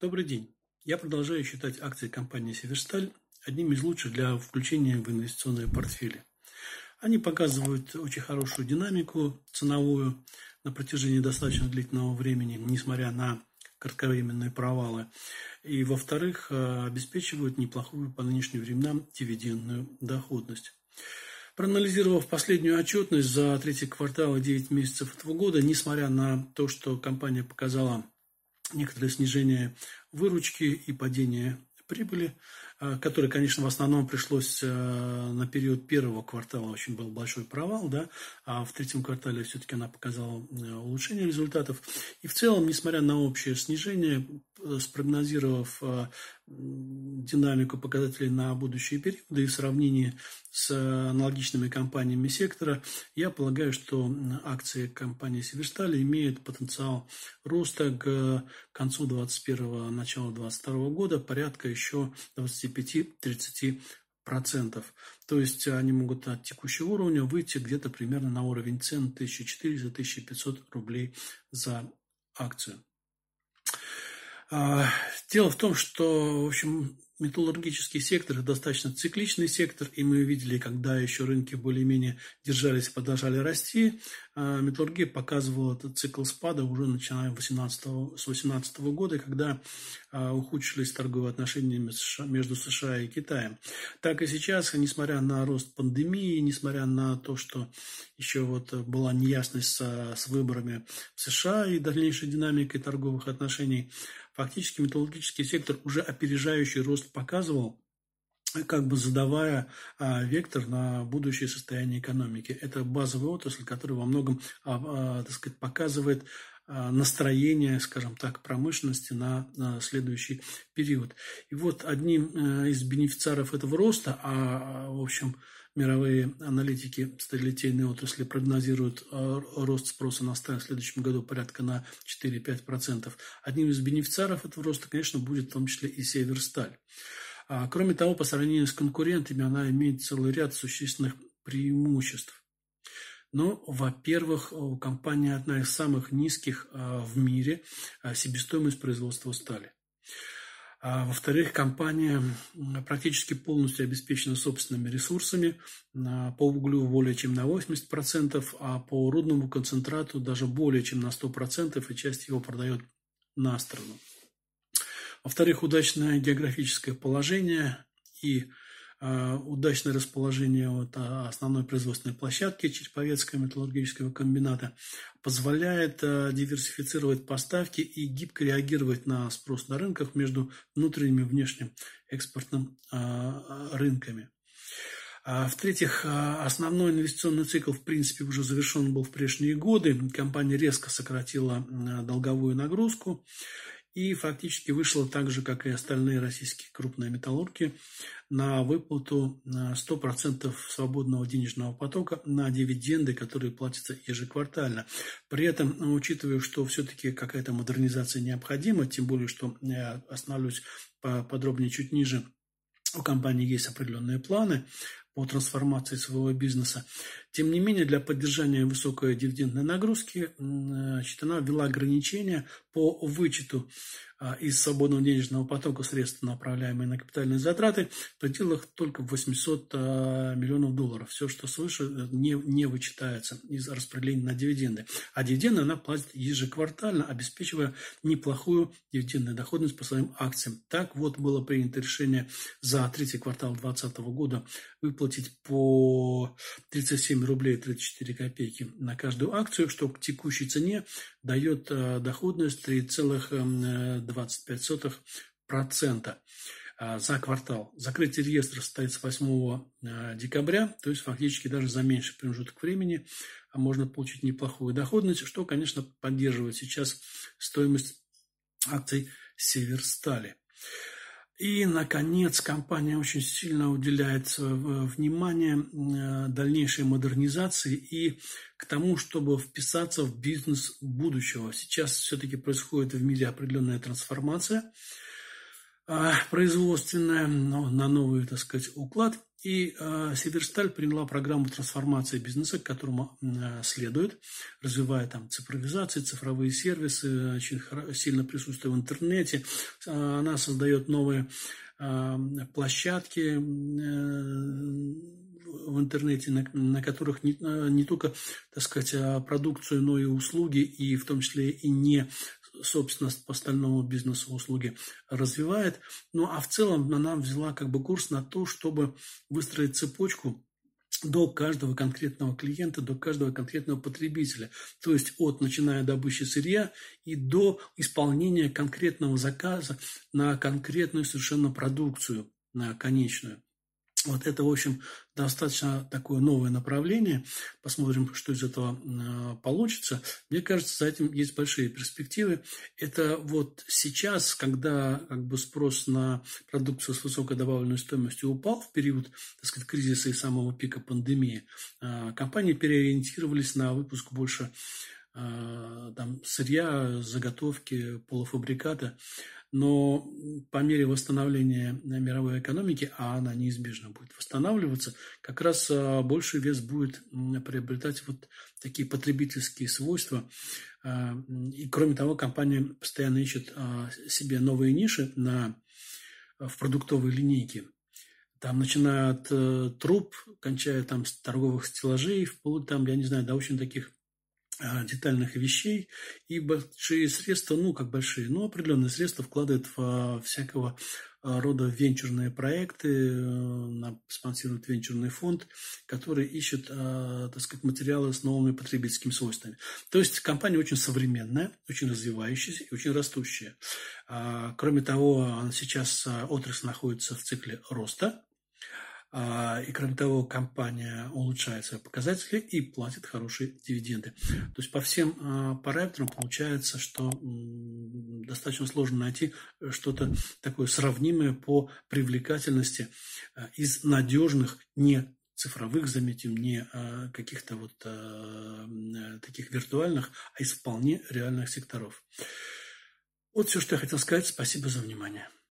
Добрый день. Я продолжаю считать акции компании «Северсталь» одним из лучших для включения в инвестиционные портфели. Они показывают очень хорошую динамику ценовую на протяжении достаточно длительного времени, несмотря на кратковременные провалы. И, во-вторых, обеспечивают неплохую по нынешним временам дивидендную доходность. Проанализировав последнюю отчетность за третий квартал и 9 месяцев этого года, несмотря на то, что компания показала некоторое снижение выручки и падение прибыли, которое, конечно, в основном пришлось на период первого квартала, очень был большой провал, да, а в третьем квартале все-таки она показала улучшение результатов. И в целом, несмотря на общее снижение, спрогнозировав динамику показателей на будущие периоды и в сравнении с аналогичными компаниями сектора, я полагаю, что акции компании «Северсталь» имеют потенциал роста к концу 2021 начала 2022 года порядка еще 25-30%. То есть они могут от текущего уровня выйти где-то примерно на уровень цен 1400-1500 рублей за акцию. Дело в том, что, в общем, металлургический сектор – это достаточно цикличный сектор, и мы видели, когда еще рынки более-менее держались и продолжали расти, металлургия показывала этот цикл спада уже начиная с 2018 года, когда ухудшились торговые отношения между США и Китаем. Так и сейчас, несмотря на рост пандемии, несмотря на то, что еще была неясность с выборами в США и дальнейшей динамикой торговых отношений, фактически металлургический сектор уже опережающий рост показывал, как бы задавая вектор на будущее состояние экономики. Это базовая отрасль, которая во многом, так сказать, показывает настроение, скажем так, промышленности на следующий период. И вот одним из бенефициаров этого роста, в общем, мировые аналитики сталелитейной отрасли прогнозируют рост спроса на сталь в следующем году порядка на 4-5%. Одним из бенефициаров этого роста, конечно, будет в том числе и «Северсталь». Кроме того, по сравнению с конкурентами, она имеет целый ряд существенных преимуществ. Но, во-первых, у компании одна из самых низких в мире себестоимость производства стали. Во-вторых, компания практически полностью обеспечена собственными ресурсами, по углю более чем на 80%, а по рудному концентрату даже более чем на 100%, и часть его продает на страну. Во-вторых, удачное географическое положение и удачное расположение основной производственной площадки Череповецкого металлургического комбината позволяет диверсифицировать поставки и гибко реагировать на спрос на рынках между внутренним и внешним экспортным рынками. В-третьих, основной инвестиционный цикл, в принципе, уже завершен был в прежние годы. Компания резко сократила долговую нагрузку и фактически вышла так же, как и остальные российские крупные металлурги, на выплату 100% свободного денежного потока на дивиденды, которые платятся ежеквартально. При этом, учитывая, что все-таки какая-то модернизация необходима, тем более, что я остановлюсь подробнее чуть ниже, у компании есть определенные планы по трансформации своего бизнеса. Тем не менее, для поддержания высокой дивидендной нагрузки она ввела ограничения по вычету из свободного денежного потока средств, направляемые на капитальные затраты, в пределах только 800 миллионов долларов. Все, что свыше, не вычитается из распределения на дивиденды. А дивиденды она платит ежеквартально, обеспечивая неплохую дивидендную доходность по своим акциям. Так вот было принято решение за третий квартал 2020 года выплатить по 37 рублей 34 копейки на каждую акцию, что к текущей цене дает доходность 3,25% за квартал. Закрытие реестра состоится 8 декабря, то есть фактически даже за меньший промежуток времени можно получить неплохую доходность, что, конечно, поддерживает сейчас стоимость акций «Северстали». И, наконец, компания очень сильно уделяет внимание дальнейшей модернизации и к тому, чтобы вписаться в бизнес будущего. Сейчас все-таки происходит в мире определенная трансформация производственная, но на новый, так сказать, уклад. И Северсталь приняла программу трансформации бизнеса, к которому следует, развивая там цифровизацию, цифровые сервисы, очень сильно присутствуя в интернете. Она создает новые площадки в интернете, на которых не только, так сказать, продукцию, но и услуги, и в том числе и не собственность по остальному бизнесу услуги развивает. Ну, а в целом она взяла как бы курс на то, чтобы выстроить цепочку до каждого конкретного клиента, до каждого конкретного потребителя. То есть начиная добычи сырья и до исполнения конкретного заказа на конкретную совершенно продукцию, на конечную. Вот это, в общем, достаточно такое новое направление. Посмотрим, что из этого получится. Мне кажется, за этим есть большие перспективы. Это вот сейчас, когда как бы спрос на продукцию с высокой добавленной стоимостью упал в период, так сказать, кризиса и самого пика пандемии, компании переориентировались на выпуск больше там, сырья, заготовки, полуфабриката. Но по мере восстановления мировой экономики, а она неизбежно будет восстанавливаться, как раз больший вес будет приобретать вот такие потребительские свойства. И кроме того, компания постоянно ищет себе новые ниши в продуктовой линейке. Там, начиная от труб, кончая там с торговых стеллажей, вплоть там, я не знаю, до очень таких детальных вещей, и большие средства, как большие, но определенные средства вкладывают в всякого рода венчурные проекты, спонсирует венчурный фонд, который ищет, так сказать, материалы с новыми потребительскими свойствами. То есть компания очень современная, очень развивающаяся и очень растущая. Кроме того, сейчас отрасль находится в цикле роста. И, кроме того, компания улучшает свои показатели и платит хорошие дивиденды. То есть по всем параметрам получается, что достаточно сложно найти что-то такое сравнимое по привлекательности из надежных, не цифровых, заметим, не каких-то вот таких виртуальных, а из вполне реальных секторов. Вот все, что я хотел сказать. Спасибо за внимание.